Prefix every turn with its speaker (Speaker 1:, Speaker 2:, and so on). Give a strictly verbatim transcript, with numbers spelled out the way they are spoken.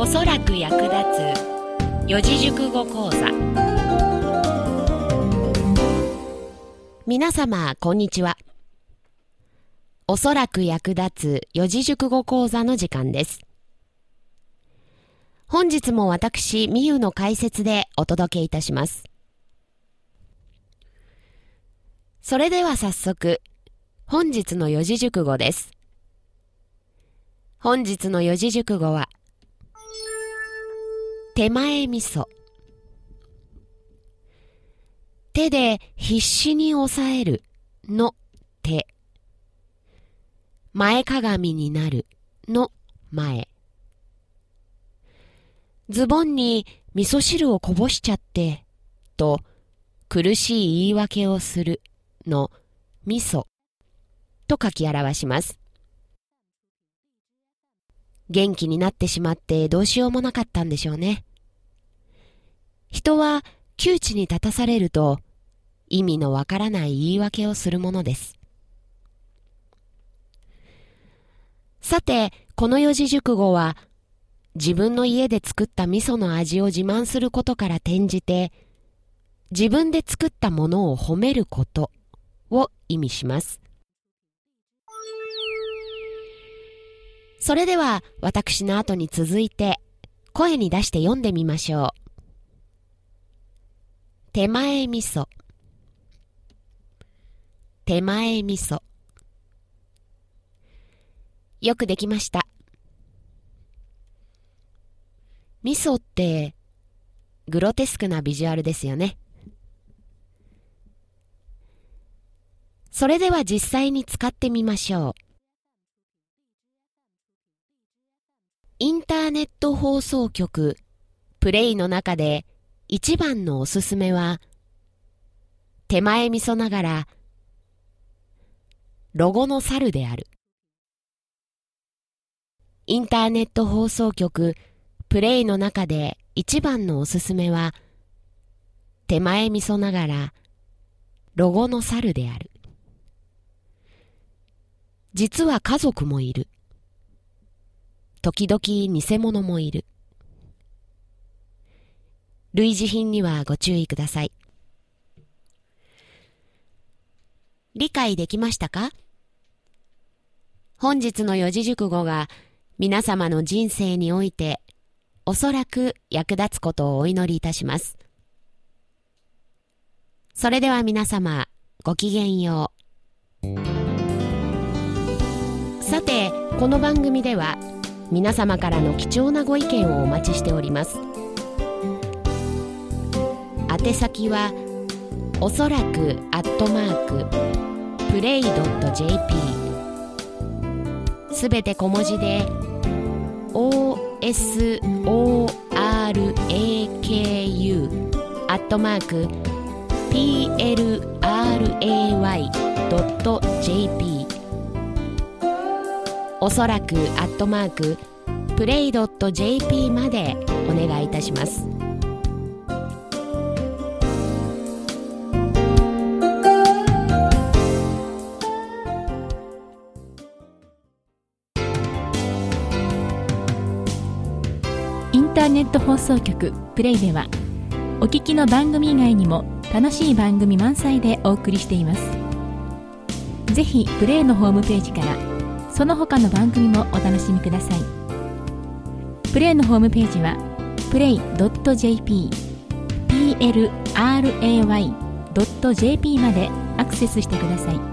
Speaker 1: おそらく役立つ四字熟語講座。皆様こんにちは。おそらく役立つ四字熟語講座の時間です。本日も私みゆの解説でお届けいたします。それでは早速本日の四字熟語です。本日の四字熟語は手前味噌。手で必死に押さえるの手。前かがみになるの前。ズボンに味噌汁をこぼしちゃってと苦しい言い訳をするの味噌と書き表します。元気になってしまってどうしようもなかったんでしょうね。人は窮地に立たされると意味のわからない言い訳をするものです。さて、この四字熟語は自分の家で作った味噌の味を自慢することから転じて自分で作ったものを褒めることを意味します。それでは私の後に続いて声に出して読んでみましょう。手前味噌。手前味噌。よくできました。味噌ってグロテスクなビジュアルですよね。それでは実際に使ってみましょう。インターネット放送局プレイの中で一番のおすすめは手前味噌ながらロゴの猿である。インターネット放送局プレイの中で一番のおすすめは手前味噌ながらロゴの猿である。実は家族もいる。時々偽物もいる。類似品にはご注意ください。理解できましたか？本日の四字熟語が皆様の人生においておそらく役立つことをお祈りいたします。それでは皆様ごきげんよう。さて、この番組では皆様からの貴重なご意見をお待ちしております。宛先はおそらくアットマークプレイドットジェーピー、 すべて小文字で オーエスオーアールエーケーユー アットマーク ピーエルアールエーワイ ドット ジェーピー、 おそらくアットマークプレイドット ジェーピー までお願いいたします。
Speaker 2: インターネット放送局プレイではお聞きの番組以外にも楽しい番組満載でお送りしています。ぜひプレイのホームページからその他の番組もお楽しみください。プレイのホームページは プレイドットジェーピー、 ピーエルアールエーワイ ドット ジェーピー までアクセスしてください。